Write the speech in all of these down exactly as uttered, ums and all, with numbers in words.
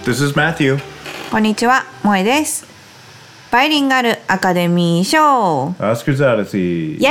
This is Matthew. こんにちは、萌です。バイリンガルアカデミー賞 Oscars Odyssey. イエ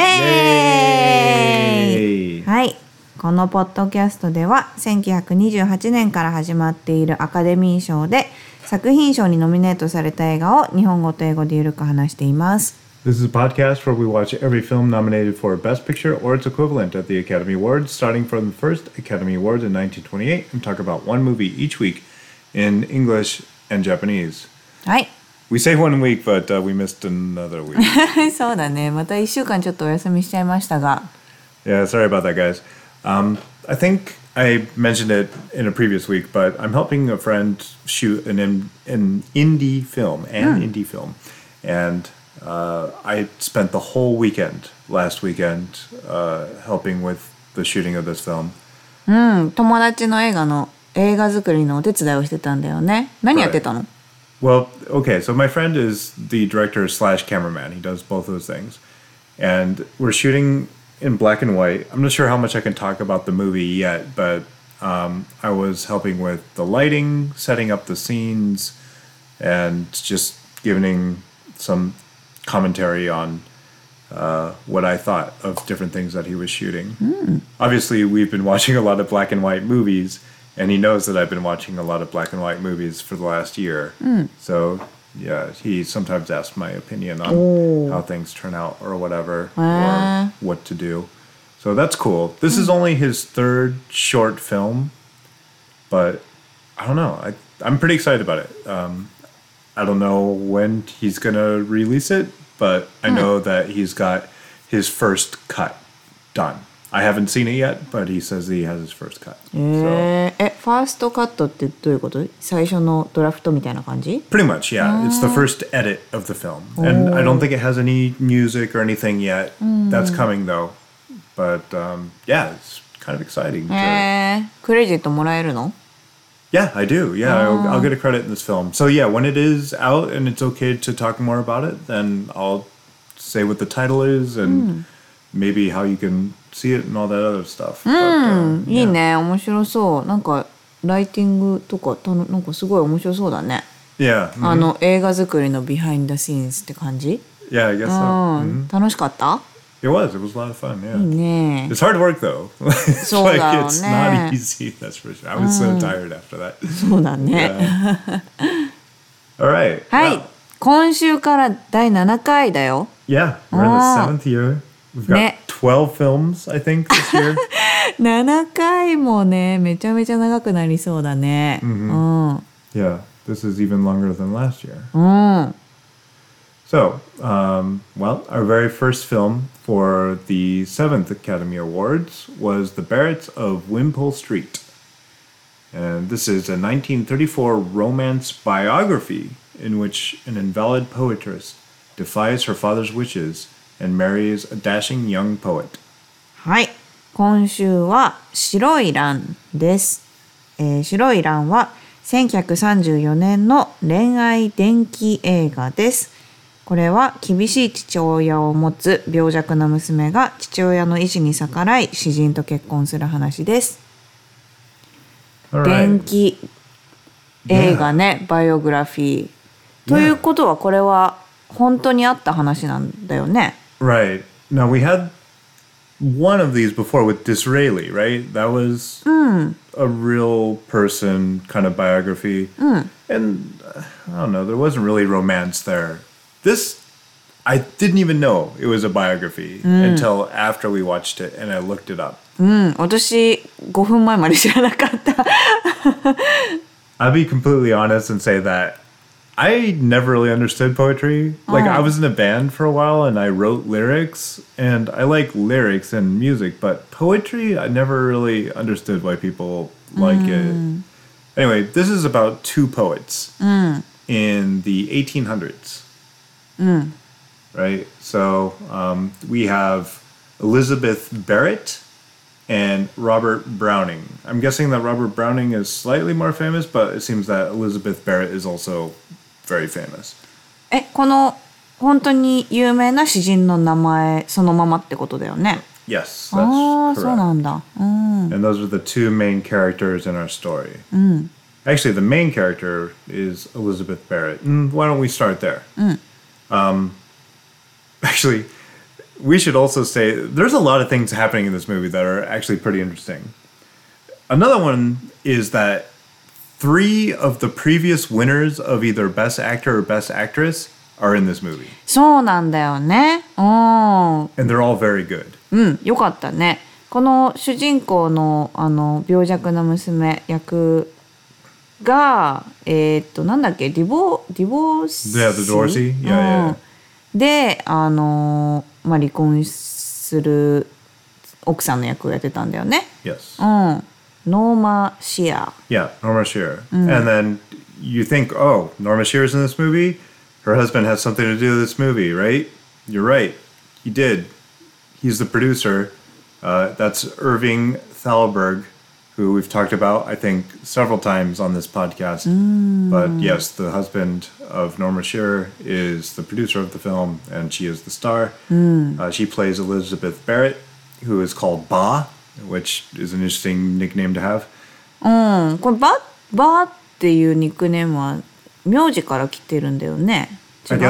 ーイ、はい、このポッドキャストではせんきゅうひゃくにじゅうはちねんから始まっているアカデミー賞で作品賞にノミネートされた映画を日本語と英語でゆるく話しています。 This is a podcast where we watch every film nominated for Best Picture or its equivalent at the Academy Awards, starting from the first Academy Awards in nineteen twenty-eight, and talk about one movie each week in English and Japanese. はい。 We say one week, but、uh, we missed another week. そうだね。またいっしゅうかんちょっとお休みしちゃいましたが。 Yeah, sorry about that, guys. Um, I think I mentioned it in a previous week, but I'm helping a friend shoot an, an indie film, an、うん、indie film, and、uh, I spent the whole weekend last weekend、uh, helping with the shooting of this film. うん、友達の映画の映画作りのお手伝いをしてたんだよね。何やってたの？ Well, okay, so my friend is the director slash cameraman. He does both those things. And we're shooting in black and white. I'm not sure how much I can talk about the movie yet, but um, I was helping with the lighting, setting up the scenes, and just giving some commentary on uh, what I thought of different things that he was shooting. Mm. Obviously, we've been watching a lot of black and white movies, and he knows that I've been watching a lot of black and white movies for the last year. Mm. So, yeah, he sometimes asks my opinion on oh. how things turn out or whatever, uh. or what to do. So that's cool. This mm. is only his third short film, but I don't know. I, I'm pretty excited about it. Um, I don't know when he's going to release it, but I know mm. that he's got his first cut done. I haven't seen it yet, but he says he has his first cut. えー、え、ファーストカットってどういうこと？最初のドラフトみたいな感じ？ Pretty much, yeah. It's the first edit of the film. And I don't think it has any music or anything yet. That's coming though. But um, yeah, it's kind of exciting. えー、クレジットもらえるの？ Yeah, I do. Yeah, I'll, I'll get a credit in this film. So yeah, when it is out and it's okay to talk more about it, then I'll say what the title is and maybe how you can see it and all that other stuff. うん、But, uh, いいね、面白そう。なんかライティングとかたのなんかすごい面白そうだね。 Yeah. Mm-hmm. あの映画作りの behind the scenes って感じ？ Yeah, I guess so. うん、楽しかった？ It was. It was a lot of fun. Yeah. いいね。 It's hard work though. そうだよね。 Like it's not easy. That's for sure. I was so tired after that. そうだね。 All right. はい。今週からだいななかいだよ。 Yeah, we're in the seventh year. We've got twelve films, I think, this year. ななかいもね、めちゃめちゃ長くなりそうだね。 Mm-hmm. うん。 Yeah, this is even longer than last year. うん。 So, um, well, our very first film for the seventh Academy Awards was The Barretts of Wimpole Street. And this is a nineteen thirty-four romance biography in which an invalid poetess defies her father's wishes and marries a dashing young poet. はい。今週は白い蘭です。えー、白い蘭はせんきゅうひゃくさんじゅうよねんの恋愛伝記映画です。これは厳しい父親を持つ病弱な娘が父親の意志に逆らい詩人と結婚する話です。 Right. 伝記映画ね、バイオグラフィー。ということはこれは本当にあった話なんだよね。 Right. Now we had one of these before with Disraeli, right? That was mm. a real person kind of biography. Mm. And uh, I don't know, there wasn't really romance there. This, I didn't even know it was a biography mm. until after we watched it and I looked it up. うん、私ごふんまえまで知らなかった。 I'll be completely honest and say that I never really understood poetry. Like, oh. I was in a band for a while and I wrote lyrics, and I like lyrics and music, but poetry, I never really understood why people like mm. it. Anyway, this is about two poets mm. in the eighteen hundreds. Mm. Right? So, um, we have Elizabeth Barrett and Robert Browning. I'm guessing that Robert Browning is slightly more famous, but it seems that Elizabeth Barrett is also very famous. え、この本当に有名な詩人の名前そのままってことだよね。 Yes, that's ああ、 correct. そうなんだ。うん。 And those are the two main characters in our story. うん。 Actually, the main character is Elizabeth Barrett. And why don't we start there? Um, actually, we should also say there's a lot of things happening in this movie that are actually pretty interesting. Another one is that three of the previous winners of either Best Actor or Best Actress are in this movie. そうなんだよね。うん。 And they're all very good. うん、よかったね。この主人公のあの病弱な娘役がえー、っとなんだっけディボディボーシ Yeah, the Dorsey. Yeah, yeah. うん、であの、まあ、離婚する奥さんの役をやってたんだよね。 Yes. うん。ノーマ・シア。 Yeah, Norma Shearer. And then you think, oh, Norma Shearer's in this movie? Her husband has something to do with this movie, right? You're right. He did. He's the producer. Uh, that's Irving Thalberg, who we've talked about, I think, several times on this podcast. But yes, the husband of Norma Shearer is the producer of the film, and she is the star. Uh, she plays Elizabeth Barrett, who is called Ba, which is an interesting nickname to have. うん、これババーっていうニックネームは名字から来てるんだよね。違 I う guess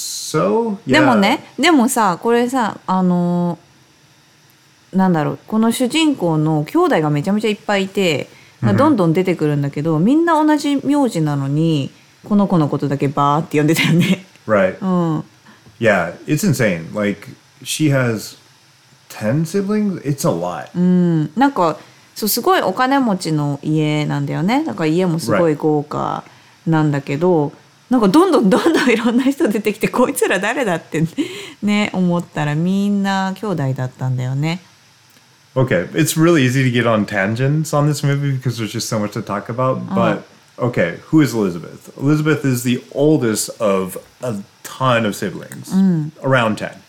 so. で Yeah. もね、でもさ、これさ、あのーなんだろう、この主人公の兄弟がめちゃめちゃいっぱいいて、どんどん出てくるんだけど、みんな同じ名字なのに、この子のことだけバーって呼んでたよね。 Right. うん。 Yeah, it's insane. Like, she has ten siblings? It's a lot. うんなんかそうすごいお金持ちの家なんだよね。だから家もすごい豪華なんだけど、なんかどんどんどんどんいろんな人出てきて、こいつら誰だってね思ったらみんな兄弟だったんだよね。 Okay, it's really easy to get on tangents on this movie because there's just so much to talk about. But, okay, who is Elizabeth? Elizabeth is the oldest of a ton of siblings, around ten.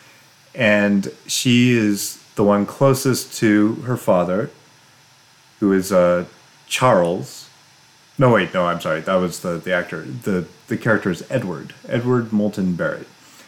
And she is the one closest to her father, who is uh, Charles. No, wait, no, I'm sorry. That was the, the actor. The, the character is Edward, Edward Moulton Barrett.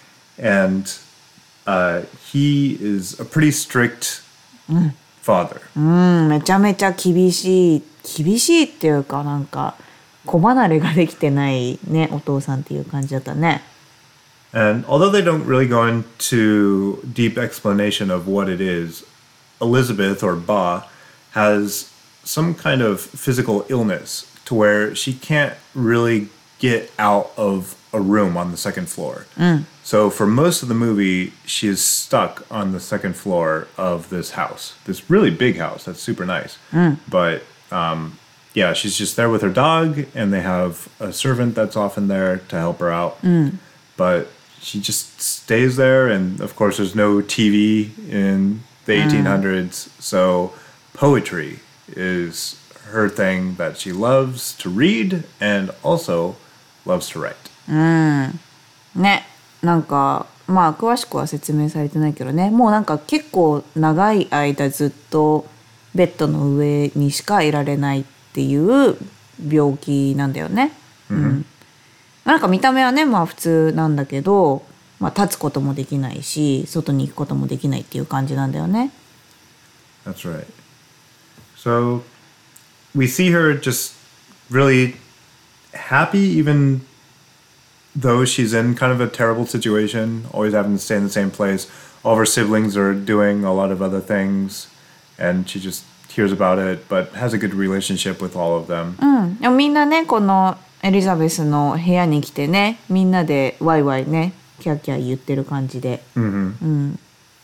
And uh, he is a pretty strict father. うんめちゃめちゃ厳しい厳しいっていうかなんか子離れができてないねお父さんっていう感じだったね。 And although they don't really go into deep explanation of what it is, Elizabeth, or Ba, has some kind of physical illness to where she can't really get out of a room on the second floor. So for most of the movie, she is stuck on the second floor of this house, this really big house that's super nice. But um, yeah, she's just there with her dog, and they have a servant that's often there to help her out. But she just stays there, and of course there's no T V in the eighteen hundreds, so poetry is her thing that she loves to read and also loves to write. ねなんかまあ詳しくは説明されてないけどね、もうなんか結構長い間ずっとベッドの上にしかいられないっていう病気なんだよね。うんなんか見た目はねまあ普通なんだけど、まあ、立つこともできないし外に行くこともできないっていう感じなんだよね。 That's right. So we see her just really happy, even though she's in kind of a terrible situation, always having to stay in the same place. All of her siblings are doing a lot of other things, and she just hears about it, but has a good relationship with all of them. うん、でもみんなねこのエリザベスの部屋に来てねみんなでワイワイねキャーキャー言ってる感じで、 And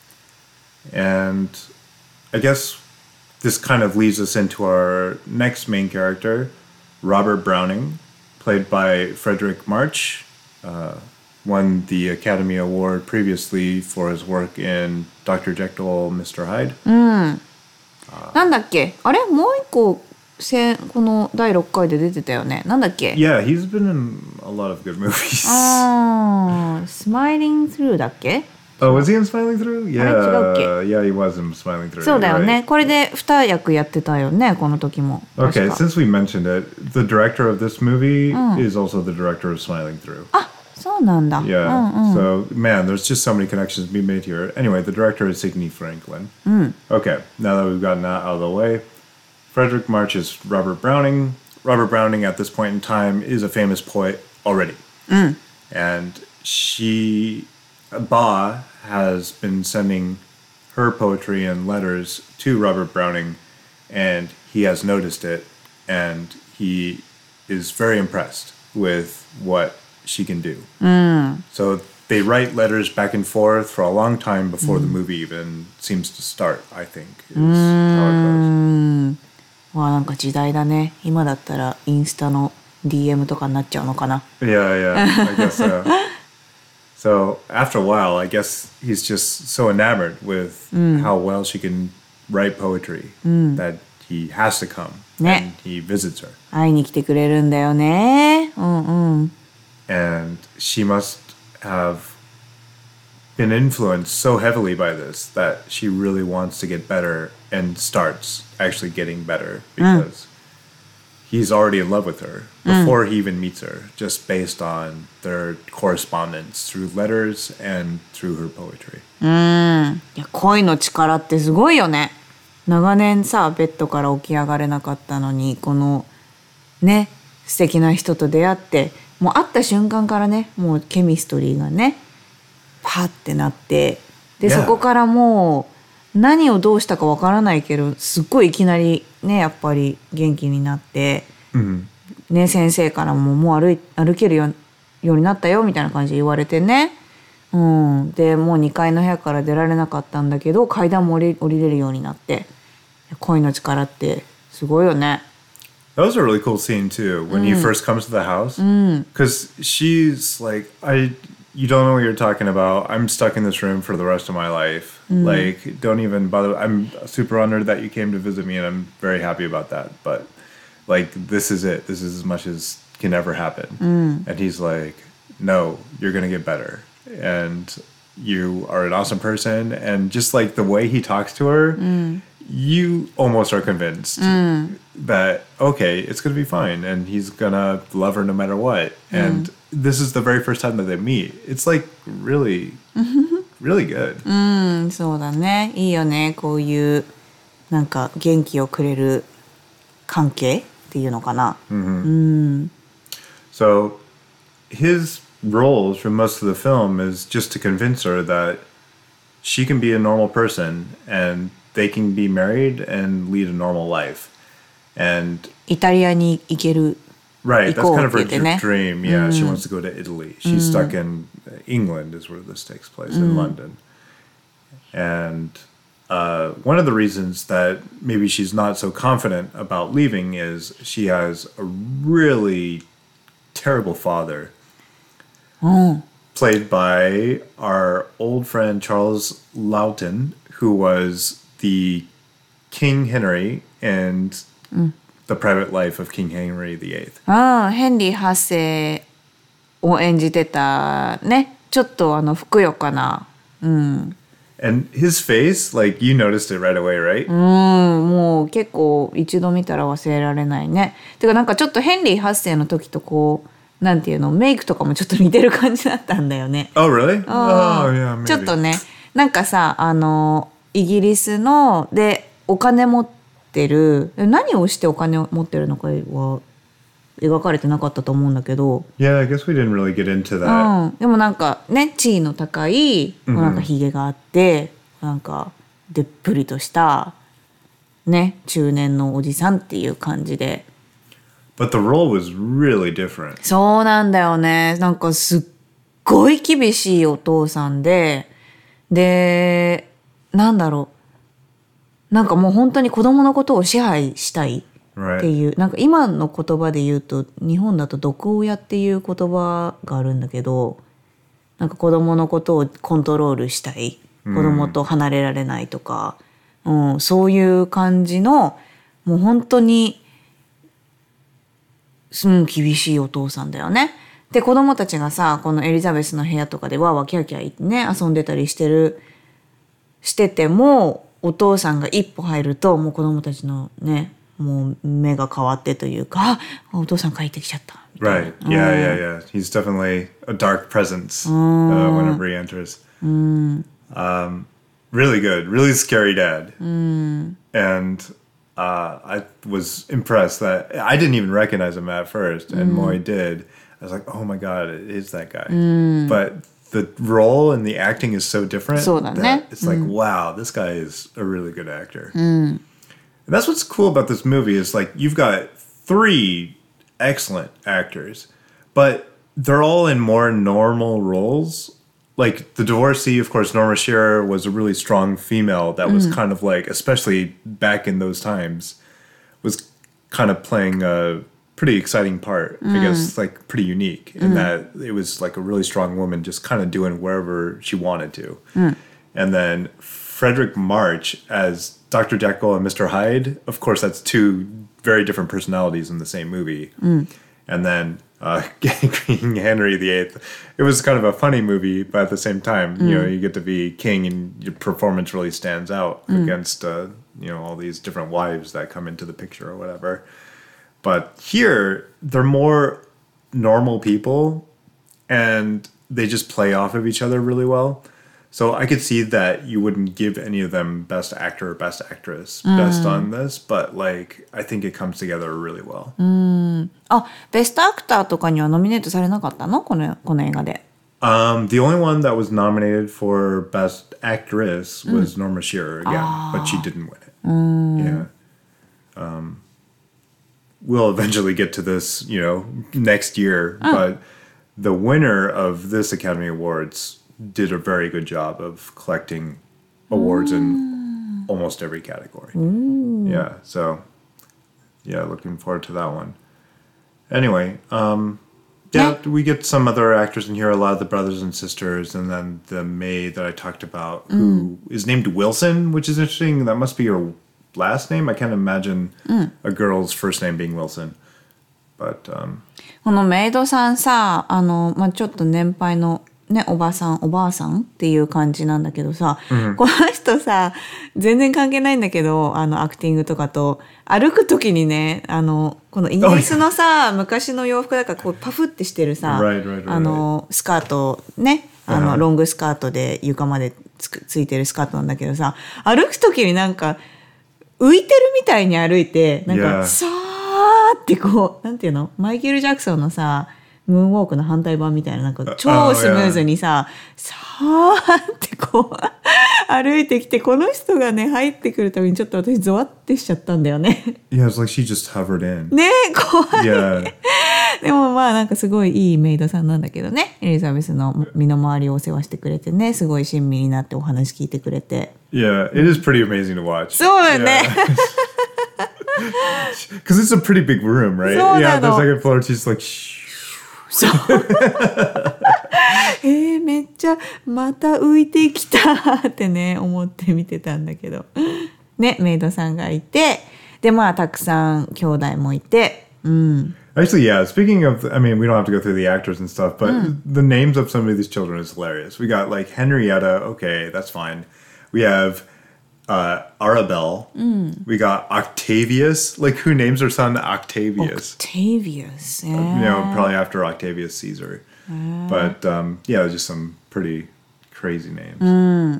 I guess this kind of leads us into our next main character, Robert Browning, played by Frederick March. Uh, won the Academy Award previously for his work in Doctor Jekyll, Mister Hyde. なんだっけあれもう一個せこのだいろっかいで出てたよね。なんだっけ Yeah, he's been in a lot of good movies. あースマイリング・スルーだっけ Oh, was he in Smiling Through? Yeah, あれ違うっけ yeah, he was in Smiling Through. そうだよ You're ね、 right. これでに役やってたよねこの時も。 Okay, 確か since we mentioned it, the director of this movie is also the director of Smiling Through. あそうなんだ。 Yeah. うんうん、 So, man, there's just so many connections being made here. Anyway, the director is Sidney Franklin. Okay, now that we've gotten that out of the way, Frederick March is Robert Browning, Robert Browning at this point in time is a famous poet already. And she, Ba, has been sending her poetry and letters to Robert Browning, and he has noticed it, and he is very impressed with what she can do. So they write letters back and forth for a long time before the movie even seems to start, I think, is how it goes. わあなんか時代だね。今だったらインスタの ディーエム とかになっちゃうのかな。 Yeah, yeah, I guess so. So after a while, I guess he's just so enamored with how well she can write poetry that he has to come and he visits her. 会いに来てくれるんだよね。うんうん。 And she must have been influenced so heavily by this that she really wants to get better and starts actually getting better because he's already in love with her before he even meets her, just based on their correspondence through letters and through her poetry. いや恋の力ってすごいよね。長年さベッドから起き上がれなかったのにこのね素敵な人と出会ってもう会った瞬間からねもうケミストリーがねパッてなってで、 Yeah. そこからもう何をどうしたかわからないけどすっごいいきなりねやっぱり元気になって、ね、先生からももう歩い歩けるようになったよみたいな感じで言われてね、うん、でもうにかいの部屋から出られなかったんだけど階段も降り、降りれるようになって恋の力ってすごいよね。 That was a really cool scene too when he first comes to the house because she's like, I you don't know what you're talking about. I'm stuck in this room for the rest of my life. Like, don't even bother. I'm super honored that you came to visit me and I'm very happy about that, but like this is it. This is as much as can ever happen. And he's like, no, you're gonna get better and you are an awesome person. And just like the way he talks to her, you almost are convinced that okay, it's gonna be fine and he's gonna love her no matter what. And this is the very first time that they meet. It's like really really good. うんそうだねいいよねこういうなんか元気をくれる関係っていうのかな。 So his role for most of the film is just to convince her that she can be a normal person and they can be married and lead a normal life. And イタリアに行ける right, that's kind of her 行こうって言ってね。 dream. Yeah, she wants to go to Italy. She's stuck in England is where this takes place, in London. And uh, one of the reasons that maybe she's not so confident about leaving is she has a really terrible father, played by our old friend Charles Loughton, who was the King Henry and the private life of King Henry the Eighth. ああヘンリーはっせいを演じてたねちょっとあのふくよかな、うん、 And his face, like you noticed it right away, right? うんもう結構一度見たら忘れられないね。てかなんかちょっとヘンリーはっせいの時とこうなんていうのメイクとかもちょっと似てる感じだったんだよね。 Oh, really? あ Oh, yeah, maybe. ちょっとねなんかさあのイギリスのでお金持ってる何をしてお金を持ってるのかは描かれてなかったと思うんだけど、 Yeah, I guess we didn't really get into that. うん、でもなんかね地位の高いなんかひげがあって、なんかでっぷりとしたね中年のおじさんっていう感じで。 But the role was really different. そうなんだよね。なんかすっごい厳しいお父さんで、でなんだろうなんかもう本当に子供のことを支配したいっていう、 Right. なんか今の言葉で言うと日本だと毒親っていう言葉があるんだけど、なんか子供のことをコントロールしたい、子供と離れられないとか、うん、そういう感じのもう本当にすん厳しいお父さんだよね。で子供たちがさこのエリザベスの部屋とかでわーわーキャーキャー言ってね遊んでたりしてるしててもお父さんが一歩入るともう子供たちのねもう目が変わってというかあお父さん帰ってきちゃったみたいな。 Right. Yeah, yeah, yeah. He's definitely a dark presence uh, whenever he enters. Um, really good. Really scary dad. And uh, I was impressed that I didn't even recognize him at first, and Moy did. I was like, oh my god, it is that guy. But the role and the acting is so different そうだね。 that it's like, wow, this guy is a really good actor. And that's what's cool about this movie is like you've got three excellent actors, but they're all in more normal roles. Like the divorcee, of course, Norma Shearer was a really strong female that was kind of like, especially back in those times, was kind of playing a pretty exciting part. I guess like pretty unique in that it was like a really strong woman just kind of doing wherever she wanted to. And then Frederick March as Doctor Jekyll and Mister Hyde, of course, that's two very different personalities in the same movie. And then uh, King Henry the Eighth. It was kind of a funny movie, but at the same time, you know, you get to be king and your performance really stands out against, uh, you know, all these different wives that come into the picture or whatever. But here, they're more normal people and they just play off of each other really well. So I could see that you wouldn't give any of them best actor or best actress best on this, but like I think it comes together really well. あ、ベストアクターとかにはノミネートされなかったの？この、この映画で。 Um, the only one that was nominated for best actress was Norma Shearer again, but she didn't win it. Yeah. Um, we'll eventually get to this, you know, next year, but the winner of this Academy Awards did a very good job of collecting awards in almost every category. Yeah, so yeah, looking forward to that one. Anyway, um, yeah, we get some other actors in here, a lot of the brothers and sisters, and then the maid that I talked about, who is named Wilson, which is interesting. That must be her last name. I can't imagine a girl's first name being Wilson. But, um, このメイドさんさ、あの、まあ、ちょっと年配のね、おばさん、おばあさんっていう感じなんだけどさ、この人さ、全然関係ないんだけど、あの、アクティングとかと、歩くときにね、あの、このイギリスのさ、昔の洋服だから、こう、パフってしてるさ、 Right, right, right, あの、スカート、ね、あの、ロングスカートで床までつく、ついてるスカートなんだけどさ、歩くときになんか、浮いてるみたいに歩いて、なんか、 Yeah. さーってこう、なんていうの？マイケル・ジャクソンのさ、ムーンウォークの反対版みたいな、なんか超スムーズにさ、さーってこう歩いてきて、この人がね入ってくるたびにちょっと私ゾワってしちゃったんだよね。 yeah, it's like she just hovered in. ねえ、怖い。 Yeah. でもまあなんかすごいいいメイドさんなんだけどね、エリザベスの身の回りをお世話してくれてね、すごい親身になってお話聞いてくれて。 Yeah, it is pretty amazing to watch. そうだよね。 Because it's a pretty big room, right? そうな Yeah, の。 the second floor, she's like, shh. そうえー、めっちゃまた浮いてきたってね思って見てたんだけどね、メイドさんがいて、でまあたくさん兄弟もいて、うん。 Actually, yeah, speaking of, I mean, we don't have to go through the actors and stuff, but the names of some of these children is hilarious. We got like Henrietta, okay, that's fine. We have uh, Arabelle. We got Octavius. Like, who names their son Octavius? Octavius, yeah. You know, probably after Octavius Caesar. But um, yeah, just some pretty crazy names.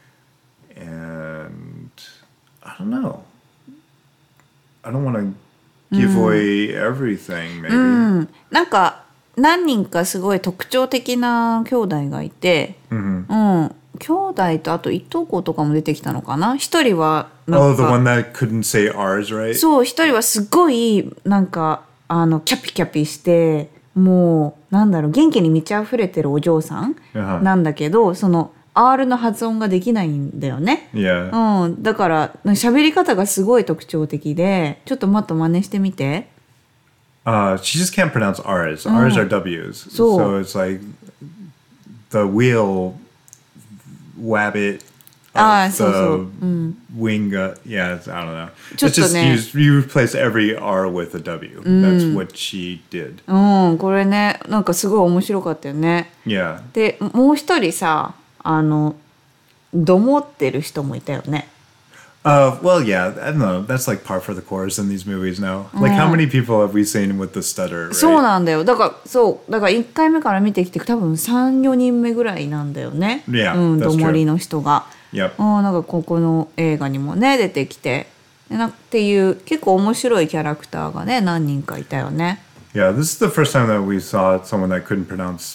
And I don't know. I don't want to give away everything, maybe. なんか何人かすごい特徴的な兄弟がいて、うん、兄弟とあといとことかも出てきたのかな。一人はなんか Oh, the one that couldn't say ours, right? そう、一人はすごいなんかあのキャピキャピしてもうなんだろう、元気に満ち溢れてるお嬢さんなんだけど、その R の発音ができないんだよね。 Yeah. うん、だから喋り方がすごい特徴的で、ちょっともっと真似してみて。 Uh, she just can't pronounce R's. R's are W's. So- So it's like the wheel, wabbit, Ah, uh, so- the so, wing. Uh, yeah, it's, I don't know. It's Just just ne- you, you replace every R with a W. That's what she did. うん、これね、なんかすごい面白かったよね。 Yeah. で、もう一人さ、あのどもってる人もいたよね。 Uh, well, yeah, I don't know. That's like par for the course in these movies now. Like, how many people have we seen with the stutter, right? そうなんだよ。だからそうだからいっかいめから見てきて多分さん、よにんめぐらいなんだよね。 Yeah, うん、 that's ど true. もりの人が。 Yep. うん、なんかここの映画にもね出てきて、 でなっていう結構面白いキャラクターがね何人かいたよね。 Yeah, this is the first time that we saw someone that couldn't pronounce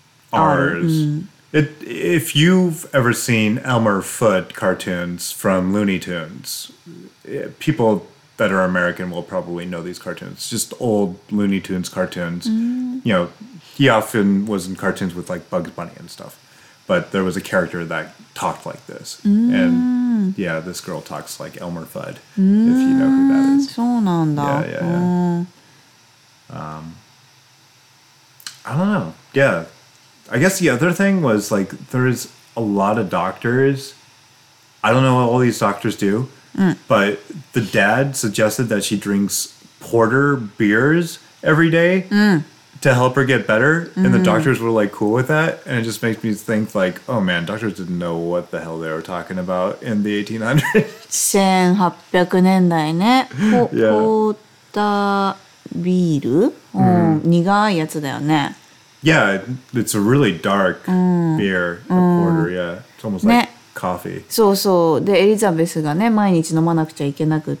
R's. It, if you've ever seen Elmer Fudd cartoons from Looney Tunes, people that are American will probably know these cartoons. Just old Looney Tunes cartoons. You know, he often was in cartoons with like Bugs Bunny and stuff. But there was a character that talked like this. And yeah, this girl talks like Elmer Fudd, if you know who that is. そうなんだ。 Yeah, yeah, yeah. Um, I don't know. Yeah. I guess the other thing was like there's a lot of doctors. I don't know what all these doctors do, but the dad suggested that she drinks porter beers every day to help her get better, and the doctors were like cool with that, and it just makes me think like, oh man, doctors didn't know what the hell they were talking about in the eighteen hundreds. せんはっぴゃくねんだいね。ポ, Yeah. ポータービール、うん、苦いやつだよね。 Yeah, it's a really dark beer, a porter. Yeah, it's almost like coffee. そうそうでエリザベスがね毎日飲まなくちゃいけなくって、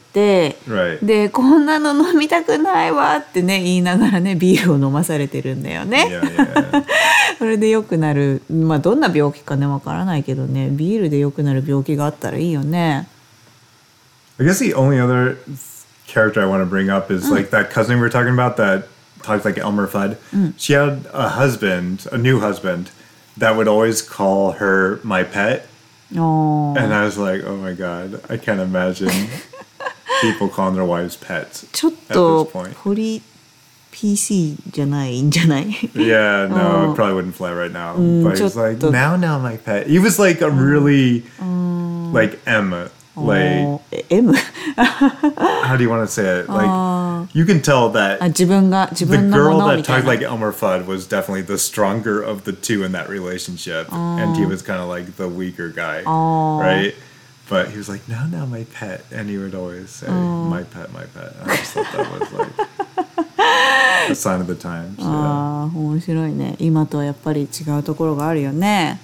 Right. でこんなの飲みたくないわってね言いながらねビールを飲まされてるんだよね。 Yeah, yeah. それで良くなる、まあどんな病気かねわからないけどねビールで良くなる病気があったらいいよね。 I guess the only other character I want to bring up is like that cousin we were talking about that talked like Elmer Fudd. She had a husband, a new husband, that would always call her my pet. おー And I was like, oh my God, I can't imagine people calling their wives pets ちょっ at と this point. ポリ ピーシー じゃないんじゃない？ Yeah, no, it probably wouldn't fly right now. But he's like, ちょっと now, now, my pet. He was like a really, like M, like, おーえ M？ how do you want to say it? Like, you can tell that あ自分が自 the 分のも girl の that みたい talked な。 like Elmer Fudd was definitely the stronger of the two in that relationship. And he was kind of like the weaker guy, right? But he was like, no, no, my pet. And he would always say, my pet, my pet. I just thought that was like a sign of the times. Yeah. あー面白いね。今とはやっぱり違うところがあるよね。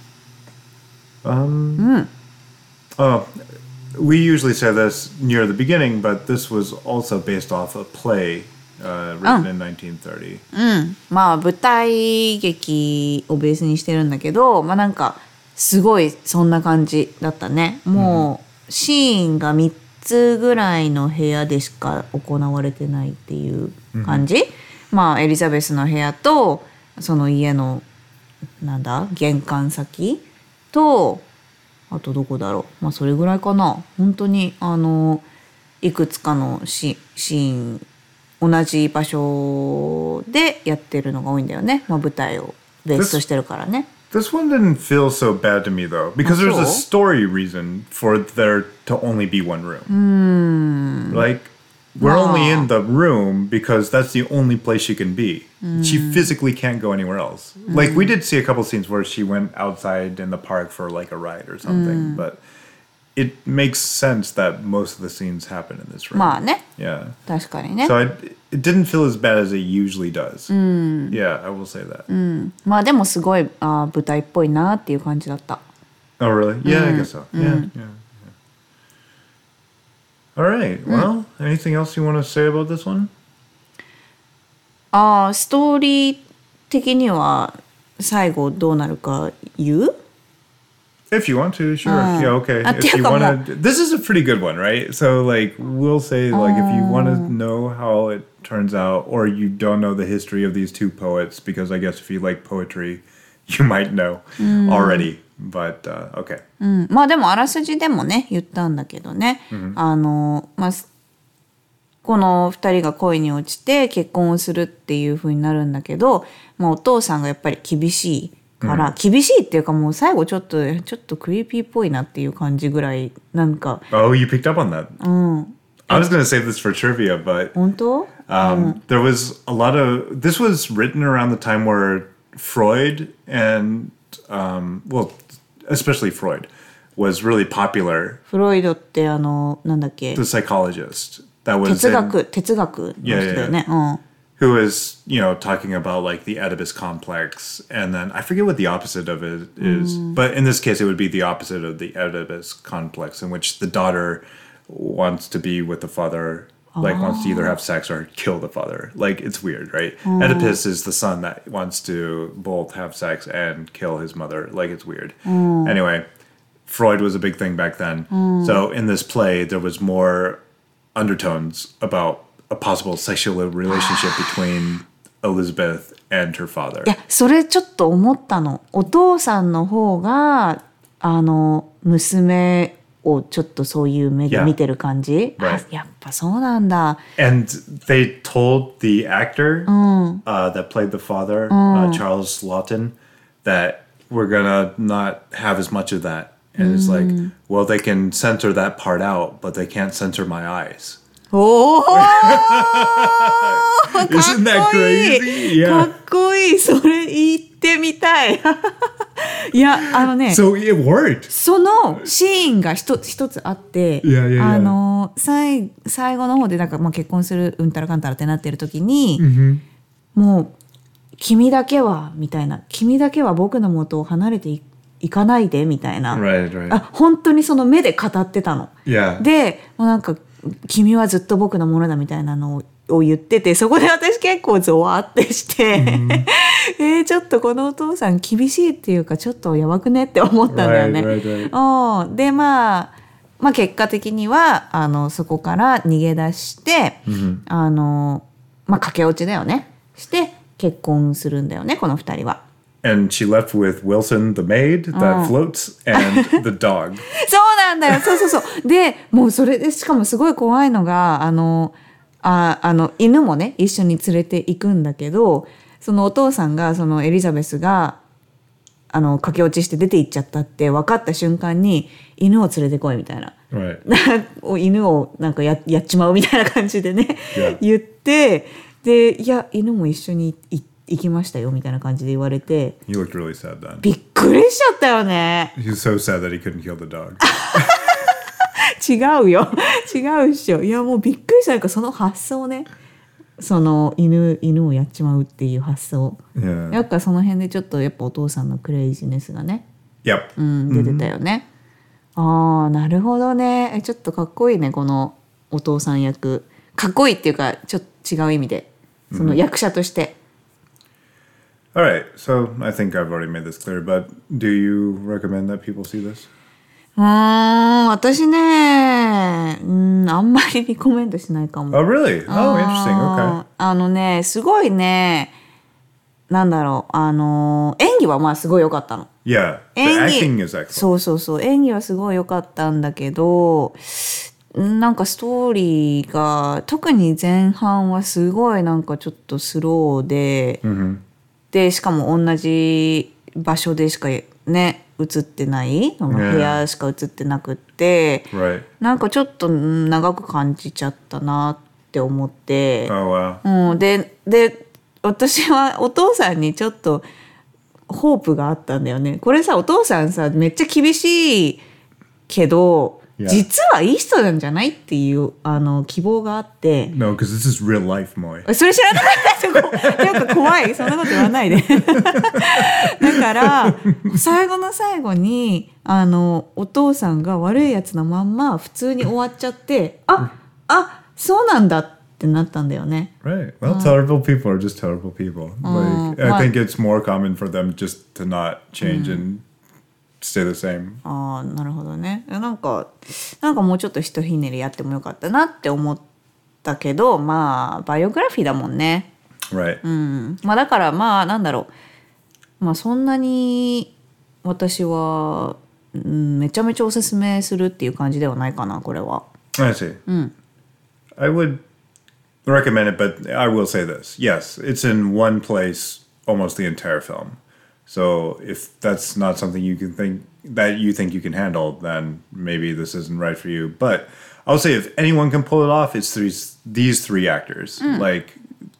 Um, Oh, we usually say this near the beginning, but this was also based off a play uh, written in nineteen thirty. まあ舞台劇をベースにしてるんだけど、まあなんかすごいそんな感じだったね。もうシーンがみっつぐらいの部屋でしか行われてないっていう感じ。まあエリザベスの部屋とその家のなんだ玄関先とあとどこだろう。まあそれぐらいかな。本当にあのいくつかのシシーン同じ場所でやってるのが多いんだよね。まあ舞台をベースとしてるからね。 This one didn't feel so bad to me though, because there's a story reason for there to only be one room. Like, we're only in the room because that's the only place she can be. She physically can't go anywhere else. Like, we did see a couple scenes where she went outside in the park for like a ride or something, but it makes sense that most of the scenes happen in this room. まあね。 Yeah. 確かにね。 So I, it didn't feel as bad as it usually does. Yeah, I will say that. まあでもすごいあ舞台っぽいなっていう感じだった。 Oh, really? Yeah, I guess so. Yeah, yeah, yeah. All right. Well, anything else you want to say about this one? ああストーリー的には最後どうなるか言う？ If you want to, sure. Yeah, okay. Ah, If you come want to, this is a pretty good one, right? So, like, we'll say, like, if you want to know how it turns out, or you don't know the history of these two poets, because I guess if you like poetry, you might know already. But uh, okay. うん、まあでもあらすじでもね言ったんだけどね、あのまあこのふたりが恋に落ちて結婚をするっていう風になるんだけど、まあ、お父さんがやっぱり厳しいから、厳しいっていうかもう最後ちょっとちょっとクリーピーっぽいなっていう感じぐらいなんか。 Oh, you picked up on that. うん。 I was going to save this for trivia, but 本当？ um, there was a lot of... This was written around the time where Freud and, um, well, especially Freud, was really popular. フロイドってあのなんだっけ？ The psychologist that was 哲 in, 学哲学の人だよね。 Yeah, yeah, yeah. who was, you know, talking about like the Oedipus complex, and then I forget what the opposite of it is, but in this case, it would be the opposite of the Oedipus complex, in which the daughter wants to be with the father, like wants to either have sex or kill the father. Like it's weird, right? Oedipus is the son that wants to both have sex and kill his mother. Like it's weird. Anyway, Freud was a big thing back then. So in this play, there was more undertones about a possible sexual relationship between Elizabeth and her father. いや、それちょっと思ったの。お父さんの方が、あの、娘をちょっとそういう目で見てる感じ。 Yeah. Right. あ、やっぱそうなんだ。 And they told the actor uh, that played the father, uh, Charles Lawton, that we're gonna not have as much of that. And it's like, well, they can censor that part out, but they can't censor my eyes. おお Isn't that crazy? か Yeah. っこいい。それ言ってみたい。いや、あのね、 So it worked. そのシーンが一つ一つあって、 Yeah, yeah, yeah. あの最最後の方でなんかまあ結婚するうんたらかんたらってなってる時に、もう君だけはみたいな、君だけは僕の元を離れてい行かないでみたいな、 Right, right. あ、本当にその目で語ってたの。 Yeah. で、もうなんか君はずっと僕のものだみたいなのをを言ってて、そこで私結構ゾワってして、mm. えー、ちょっとこのお父さん厳しいっていうかちょっとやばくねって思ったんだよね。 Right, right, right. おで、まあ、まあ結果的にはあのそこから逃げ出して、mm-hmm. あのまあ駆け落ちだよね。して結婚するんだよね、この二人は。 And she left with Wilson, the maid that floats, and the dog. そうなんだよ。そうそうそう。で、もうそれでしかもすごい怖いのが、あの、ああの犬もね一緒に連れて行くんだけど、そのお父さんがそのエリザベスがあの駆け落ちして出て行っちゃったって分かった瞬間に犬を連れてこいみたいな、 right. 犬をなんか や, やっちまうみたいな感じでね、 yeah. 言って、でいや犬も一緒に行きましたよみたいな感じで言われて、 He looked really sad then. びっくりしちゃったよね。 He was so sad that he couldn't kill the dog. 違うよ違うっしょ。いやもうびっくりした。なんかその発想ね、その犬犬をやっちまうっていう発想、 yeah. やっぱその辺でちょっとやっぱお父さんのクレイジネスがね、 yep. うん、出てたよね、mm-hmm. ああなるほどね。ちょっとかっこいいね、このお父さん役。かっこいいっていうかちょっと違う意味で、その役者として、 mm-hmm. Alright, so I think I've already made this clear, but do you recommend that people see this? うーん、私ね、うん、あんまりリコメントしないかも。 Oh, really? Oh, interesting. Okay. あのね、すごいね、なんだろう、あの、演技はまあすごい良かったの。 Yeah, the 演 acting is 技、 excellent. そうそうそう、演技はすごい良かったんだけど、なんかストーリーが、特に前半はすごいなんかちょっとスローで、 mm-hmm. で、しかも同じ場所でしかね、映ってないその部屋しか映ってなくって、 yeah. right. なんかちょっと長く感じちゃったなって思って、 oh, wow. うん、でで私はお父さんにちょっとホープがあったんだよね。これさ、お父さんさめっちゃ厳しいけど、 yeah. 実はいい人なんじゃないっていうあの希望があって。 No, because this is real life, Moy. それ知らなかった。なんか怖い。そんなこと言わないで。だから最後の最後にあのお父さんが悪いやつのまんま普通に終わっちゃって、あ、あ、そうなんだってなったんだよね。 Right. Well, terrible people are just terrible people. Like, I think it's more common for them just to not change and stay the same. ああ、なるほどね。なんかなんかもうちょっとひとひねりやってもよかったなって思ったけど、まあバイオグラフィーだもんね。 Right. うん、まあだからまあなんだろう、まあそんなに私は、うん、めちゃめちゃおすすめするっていう感じではないかな、これは。 I see. うん。 I would recommend it, but I will say this. Yes, it's in one place almost the entire film. So if that's not something you can think that you think you can handle, then maybe this isn't right for you. But I'll say if anyone can pull it off, it's these these three actors. Mm. Like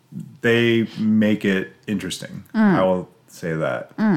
they make it interesting. Mm. I will say that. Mm.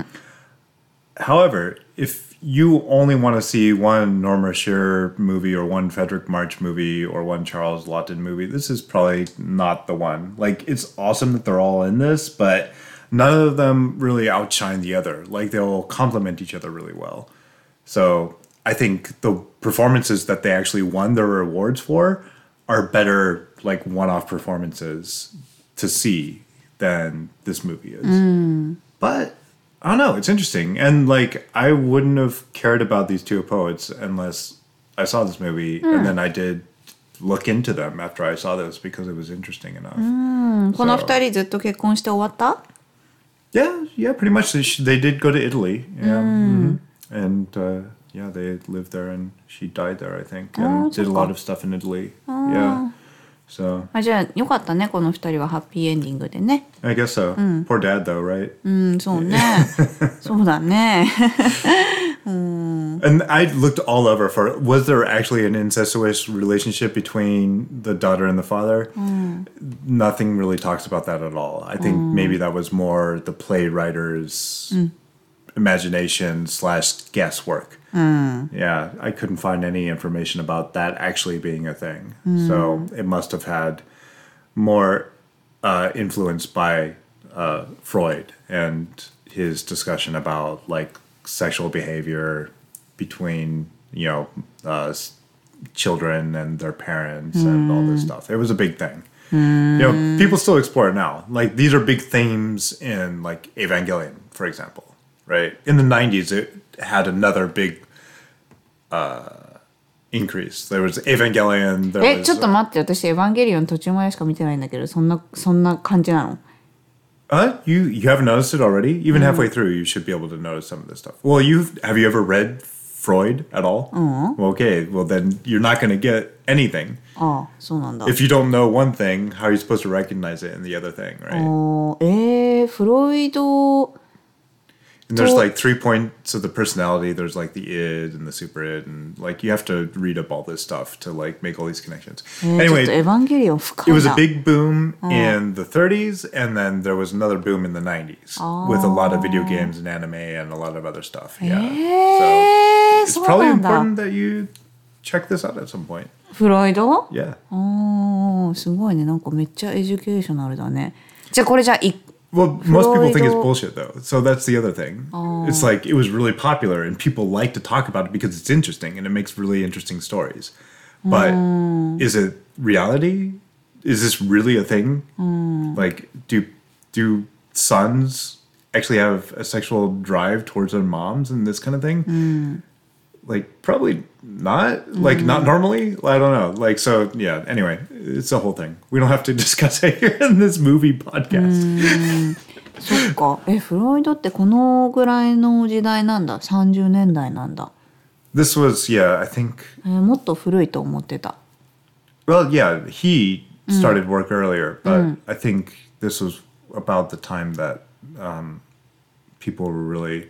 However, if you only want to see one Norma Shearer movie or one Frederick March movie or one Charles Lawton movie, this is probably not the one. Like, it's awesome that they're all in this, but none of them really outshine the other. Like, they'll complement each other really well. So I think the performances that they actually won their rewards for are better, like one-off performances to see than this movie is. Mm. But I don't know, it's interesting. And like, I wouldn't have cared about these two poets unless I saw this movie, mm. and then I did look into them after I saw this because it was interesting enough. うん、この二人ずっと結婚して終わった？ Yeah, yeah, pretty much. They, sh- they did go to Italy. Yeah. Mm. Mm-hmm. And uh, yeah, they lived there and she died there, I think. And did a lot of stuff in Italy. Yeah. So. あ、じゃあよかったね、この二人はハッピーエンディングでね。 I guess so. Poor dad though, right? うん、そうね。そうだね。 And I looked all over for, was there actually an incestuous relationship between the daughter and the father? Mm. Nothing really talks about that at all. I think mm. maybe that was more the playwriter's mm. imagination slash guesswork. Mm. Yeah, I couldn't find any information about that actually being a thing. Mm. So it must have had more uh, influence by uh, Freud and his discussion about like sexual behavior between, you know, uh, children and their parents mm. and all this stuff. It was a big thing. Mm. You know, people still explore it now. Like, these are big themes in, like, Evangelion, for example, right? In the nineties, it had another big uh, increase. There was Evangelion. There え、 was, ちょっと待って、私エヴァンゲリオン途中までしか見てないんだけど、そんなそんな感じなの ？Uh, you you haven't noticed it already? Even mm. halfway through, you should be able to notice some of this stuff. Well, you have you ever read Freud at all? Mm. Well, okay, well then you're not going to get anything. ああ、そうなんだ。 If you don't know one thing, how are you supposed to recognize it in the other thing, right? あ、えー、フロイド And there's like three points of the personality. There's like the id and the super id, and like you have to read up all this stuff to like make all these connections. えー、 Anyway, ちょっとエヴァンゲリオン深いな。 it was a big boom in the thirties, and then there was another boom in the nineties with a lot of video games and anime and a lot of other stuff. Yeah, えー、 so it's probably important that you check this out at some point. フロイド Yeah. ああ、すごいね。なんかめっちゃエデュケーショナルだね。じゃあこれじゃあい Well, most people think it's bullshit, though. So that's the other thing. Oh. It's like it was really popular, and people like to talk about it because it's interesting and it makes really interesting stories. But mm. is it reality? Is this really a thing? Mm. Like, do do sons actually have a sexual drive towards their moms and this kind of thing? Mm. Like, probably not. Like, mm. not normally. I don't know. Like, so, yeah. Anyway, it's a whole thing. We don't have to discuss it here in this movie podcast. そっか。え、フロイドってこのぐらいの時代なんだ。さんじゅうねんだいなんだ。 This was, yeah, I think... えー、もっと古いと思ってた。 Well, yeah, he started work earlier, but mm. I think this was about the time that um, people were really...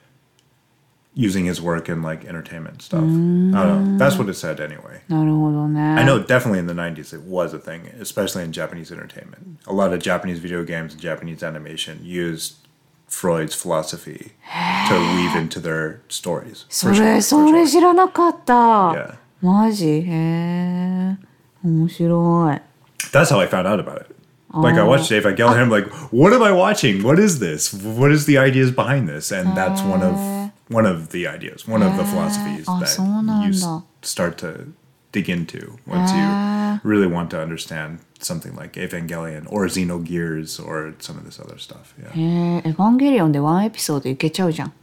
using his work in like entertainment stuff. Mm. I don't know. That's what it said anyway. なるほどね。 I know definitely in the nineties it was a thing, especially in Japanese entertainment. A lot of Japanese video games and Japanese animation used Freud's philosophy to weave into their stories. それ、それ知らなかった。 Yeah. マジ？へえ。面白い。 That's how I found out about it. Like, I watched Evangelion, I'm like, what am I watching? What is this? What is the ideas behind this? And that's one of one of the ideas, one of the philosophies that you start to dig into once you really want to understand something like Evangelion or Xenogears or some of this other stuff. Yeah. へえ、エヴァンゲリオンでワンエピソードいけちゃうじゃん。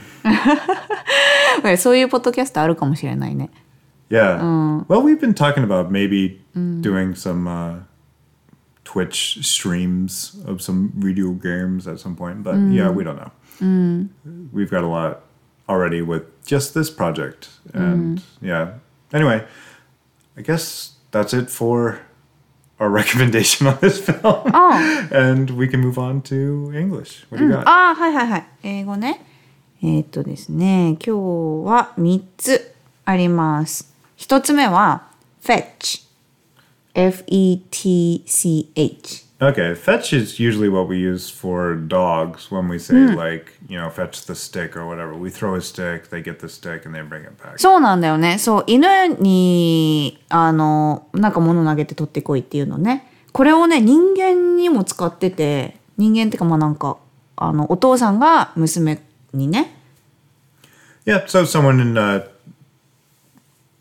そういうポッドキャストあるかもしれないね。 Yeah. Well, we've been talking about maybe doing some uh, Twitch streams of some video games at some point, but yeah, we don't know. Mm. We've got a lot already with just this project, and mm. yeah. Anyway, I guess that's it for our recommendation on this film. Oh. And we can move on to English. What do you got? あ、はいはいはい。英語ね。えー、っとですね、今日はみっつあります。ひとつめは fetch。F E T C H. Okay, fetch is usually what we use for dogs when we say mm. like, you know, fetch the stick or whatever. We throw a stick, they get the stick and they bring it back. そうなんだよね。そう、犬にあのなんか物投げて取ってこいっていうのね。これをね、人間にも使ってて、人間ってかまあなんかあのお父さんが娘にね。 Yeah, so someone in uh,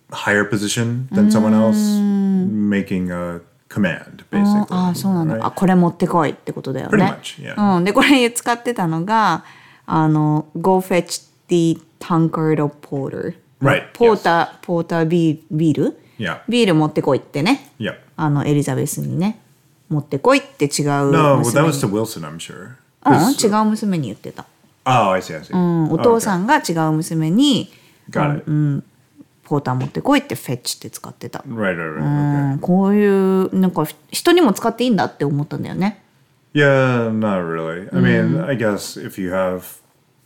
higher position than someone else, making a command, あ basically. あ、そうなんだ。 right? あ、これ持ってこいってことだよ Pretty ね。 much, yeah. うん、でこれ使ってたのがあの Go fetch the tankard of porter. Right, ポーター、ポータービービール Yeah. ビール持ってこいってね。 Yeah. あのエリザベスにね持ってこいって違う No, well, 娘 that に was to Wilson, I'm sure. うん、 'Cause- 違う娘に言ってた。 Oh, I see, I see. うん、お Oh, 父 okay. さんが違う娘に Got it. ポーター持ってこいってフェッチって使ってた。 Right, right, right. う Okay. ん、こういうなんか人にも使っていいんだって思ったんだよね。 Yeah, not really. I mean, I guess if you have,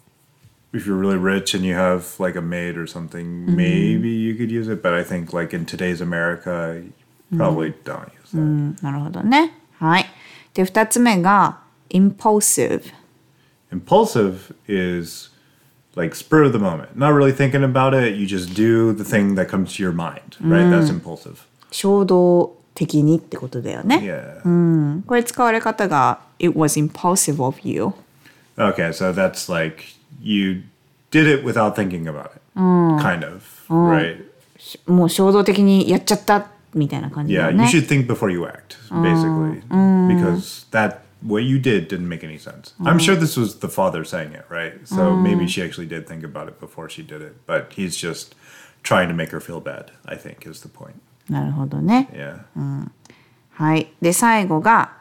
if you're really rich and you have like a maid or something, maybe you could use it. But I think like in today's America, you probably don't use that. うん、なるほどね。はい。で二つ目が impulsive。 Impulsive is like spur of the moment, not really thinking about it. You just do the thing that comes to your mind, right? That's impulsive. 衝動的にってことだよね。 Yeah. うん、これ使われ方が It was impulsive of you。 Okay, so that's like you did it without thinking about it, kind of, right? もう衝動的にやっちゃったみたいな感じだ Yeah, よね。 you should think before you act, basically, because that what you did didn't make any sense. I'm sure this was the father saying it, right? So maybe she actually did think about it before she did it, but he's just trying to make her feel bad, I think, is the point. なるほどね。 Yeah. はい。で最後が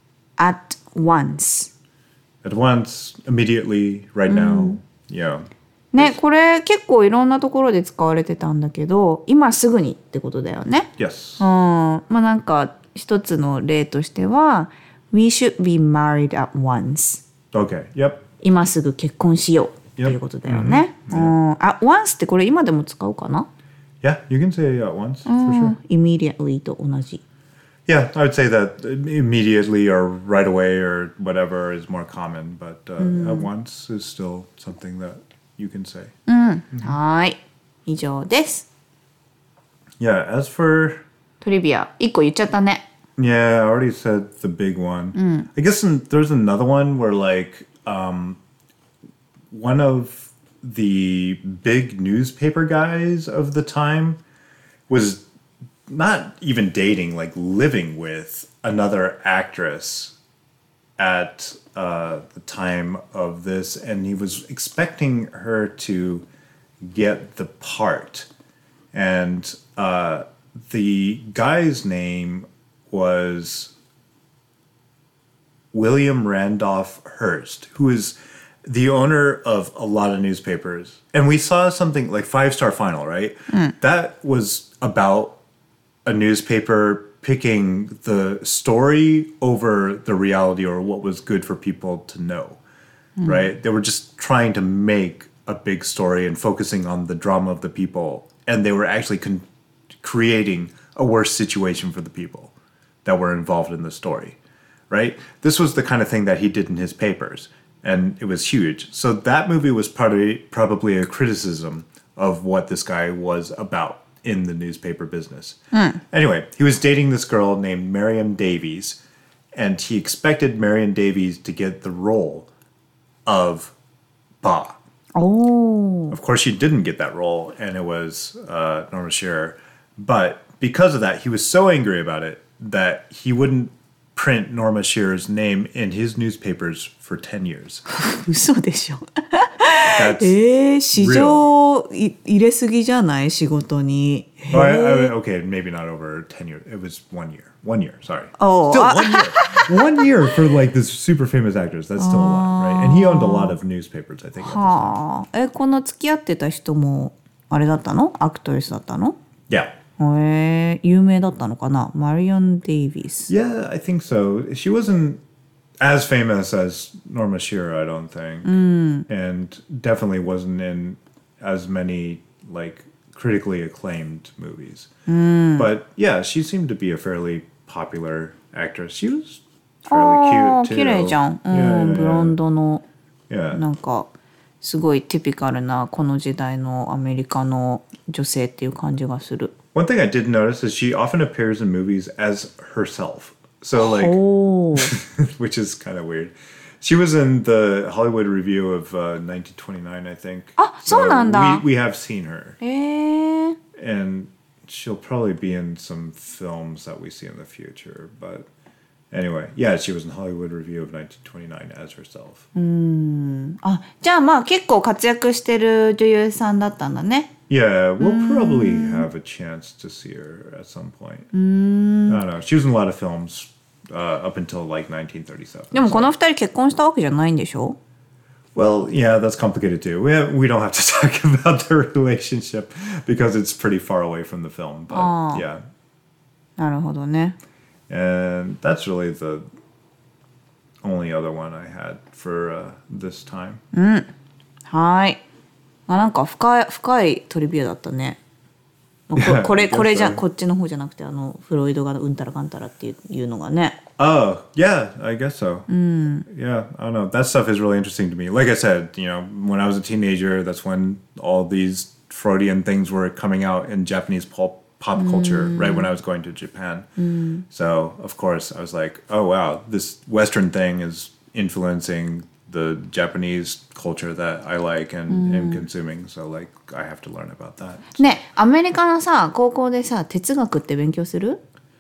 at once。 At once, immediately, right now, yeah. ね、これ結構いろんなところで使われてたんだけど、今すぐにってことだよね。 Yes. うん、まあなんか一つの例としては We should be married at once。 Okay. Yep. 今すぐ結婚しようっていうことだよね。うん、at once ってこれ今でも使うかな？ Yeah, you can say it at once, for sure. immediately と同じ。 Yeah, I would say that immediately or right away or whatever is more common, but uh, at once is still something that you can say. はい。以上です。 Yeah, as for トリビアいっこ言っちゃったね。 yeah, I already said the big one. I guess in, there's another one where like um, one of the big newspaper guys of the time was not even dating, like living with another actress at uh, the time of this, and he was expecting her to get the part. And uh, the guy's name was William Randolph Hearst, who is the owner of a lot of newspapers. And we saw something like Five Star Final, right? That was about a newspaper picking the story over the reality or what was good for people to know, right? They were just trying to make a big story and focusing on the drama of the people. And they were actually con- creating a worse situation for the people that were involved in the story, right? This was the kind of thing that he did in his papers, and it was huge. So that movie was probably probably a criticism of what this guy was about in the newspaper business. Anyway, he was dating this girl named Marion Davies, and he expected Marion Davies to get the role of Ba. おー。 Of course, she didn't get that role, and it was uh, Norma Shearer. But because of that, he was so angry about it that he wouldn't print Norma Shearer's name in his newspapers for ten years. 嘘でしょ。 That's えー、市場い入れすぎじゃない仕事に。 oh, I, I, okay, maybe not over ten years. It was one year. One year, sorry. Oh, still uh, one year. One year for like this super famous actress. That's still a lot, right? And he owned a lot of newspapers, I think. At this time. はあ。え、この付き合ってた人もあれだったの？アクトレスだったの？ Yeah. へえ、有名だったのかな？マリオン・デイビス。 Yeah, I think so. She wasn't as famous as Norma Shearer, I don't think. And definitely wasn't in as many like critically acclaimed movies. But yeah, she seemed to be a fairly popular actress. She was あ fairly あ、 cute too. 綺麗じゃん。うん、 Yeah, yeah, ブロンドの yeah. なんかすごいティピカルなこの時代のアメリカの女性っていう感じがする。 One thing I did notice is she often appears in movies as herself. So like, おお。 which is kind of weird. She was in the Hollywood Review of uh, nineteen twenty-nine, I think. あ、そうなんだ。 We, we have seen her. へえ。 And she'll probably be in some films that we see in the future. But anyway, yeah, she was in Hollywood Review of nineteen twenty-nine as herself. あ、じゃあまあ結構活躍してる女優さんだったんだね。 Yeah, we'll probably have a chance to see her at some point. I don't know. She was in a lot of films uh, up until like nineteen thirty-seven. でもこの二人結婚したわけじゃないんでしょ？ Well, yeah, that's complicated too. We have, we don't have to talk about their relationship because it's pretty far away from the film. But Oh. yeah, なるほどね。 and that's really the only other one I had for uh, this time. はい。あ、なんか深い深いトリビアだったね。まあここれこれじゃこっちの方じゃなくてあのフロイドがうんたらかんたらっていういうのがね。 Oh, yeah, I guess so. Yeah, I don't know. That stuff is really interesting to me. Like I said, you know, when I was a teenager, that's when all these Freudian things were coming out in Japanese pop, pop culture, right when I was going to Japan. So, of course, I was like, oh, wow, this Western thing is influencing the Japanese culture that I like and am consuming. So, like, I have to learn about that. ね、アメリカのさ高校でさ哲学って勉強する？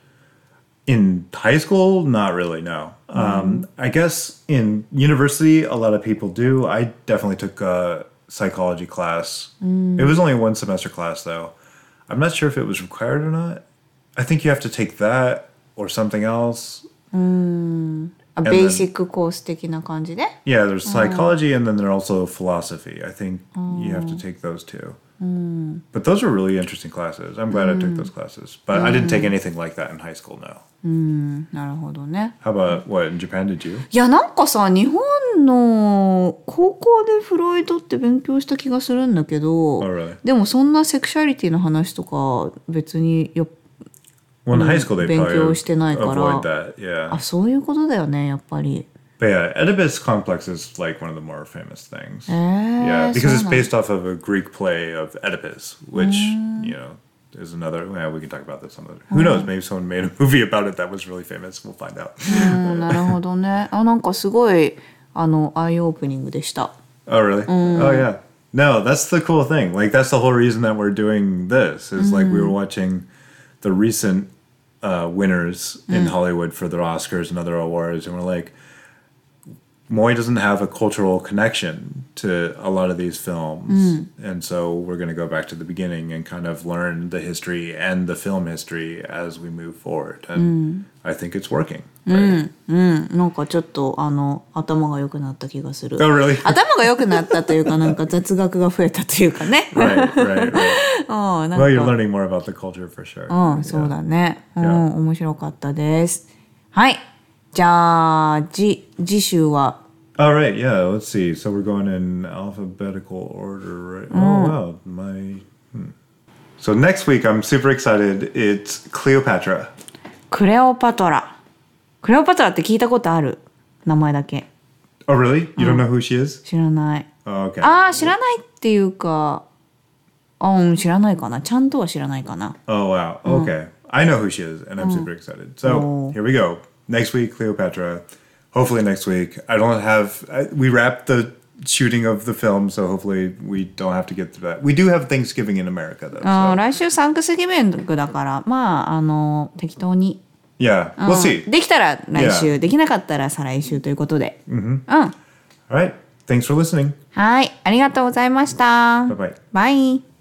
In high school, not really, no. Um, I guess in university, a lot of people do. I definitely took a psychology class. It was only a one semester class, though. I'm not sure if it was required or not. I think you have to take that or something else. あ、ベーシックコース的な感じで？ Yeah, there's psychology and then there's also philosophy. I think you have to take those two. But those were really interesting classes. I'm glad I took those classes. But I didn't take anything like that in high school, no. なるほどね。 How about, what, in Japan did you? いやなんかさ日本の高校でフロイドって勉強した気がするんだけど、 Oh, really? でもそんなセクシャリティの話とか別によ Well, in high school, they 勉 probably 強してないから。 avoid that, yeah. あ、そういうことだよねやっぱり。 But yeah, Oedipus complex is like one of the more famous things. えー、 Yeah, because そう it's なんだ based off of a Greek play of Oedipus, which, you know, is another, well, we can talk about this some other. Who knows, maybe someone made a movie about it that was really famous. We'll find out. うんなるほどね。あ、なんかすごいあのアイオープニングでした。 Oh, really? Oh, yeah. No, that's the cool thing. Like, that's the whole reason that we're doing this, is like we were watching the recent uh, winners in Hollywood for the Oscars and other awards, and we're like, Moy doesn't have a cultural connection to a lot of these films. And so we're going to go back to the beginning and kind of learn the history and the film history as we move forward. And I think it's working. Right? うんなんかちょっとあの頭が良くなった気がする。 Oh, really? 頭が良くなったというかなんか雑学が増えたというかね。 right, right, right. あなんか Well, you're learning more about the culture for sure. うん、そうだね。うん、 Yeah. 面白かったです。はい。じゃあ、じ、次週は All right, yeah, let's see. So we're going in alphabetical order, right? Oh, wow. My. Hmm. So next week, I'm super excited. It's Cleopatra. クレオパトラ。クレオパトラって聞いたことある名前だけ。 Oh, really? You don't know who she is? 知らない。 Oh, okay. ああ、知らないっていうか、あ、うん、知らないかな。ちゃんとは知らないかな。 Oh, wow. Okay. I know who she is, and I'm super excited. So Oh. here we go. Next week, Cleopatra. Hopefully next week. I don't have. I, we wrapped the shooting of the film, so hopefully we don't have to get through that. We do have Thanksgiving in America, though. あー So. 来週サンクスギビングだから、まあ、あの、適当に。 Yeah, うん we'll see. できたら来週、 Yeah. できなかったら再来週ということで。うん。 All right. Thanks for listening. はい。ありがとうございました。 Bye bye. バイ。